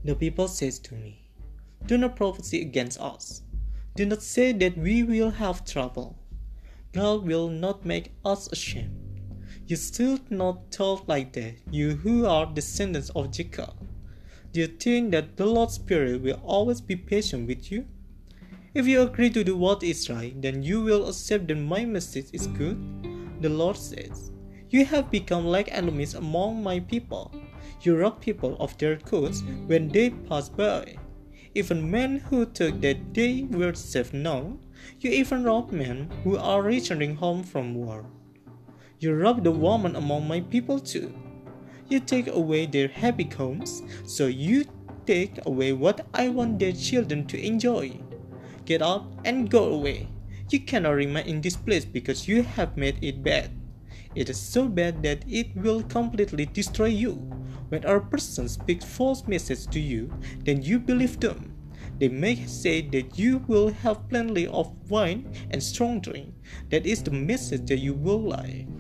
The people says to me, "Do not prophesy against us. Do not say that we will have trouble. God will not make us ashamed. You should not talk like that, you who are descendants of Jacob. Do you think that the Lord's Spirit will always be patient with you? If you agree to do what is right, then you will accept that my message is good." The Lord says, "You have become like enemies among my people. You rob people of their goods when they pass by. Even men who thought that they were safe now, you even rob men who are returning home from war. You rob the woman among my people too. You take away their happy homes, so you take away what I want their children to enjoy. Get up and go away. You cannot remain in this place because you have made it bad. It is so bad that it will completely destroy you. When a person speaks false messages to you, then you believe them. They may say that you will have plenty of wine and strong drink. That is the message that you will like.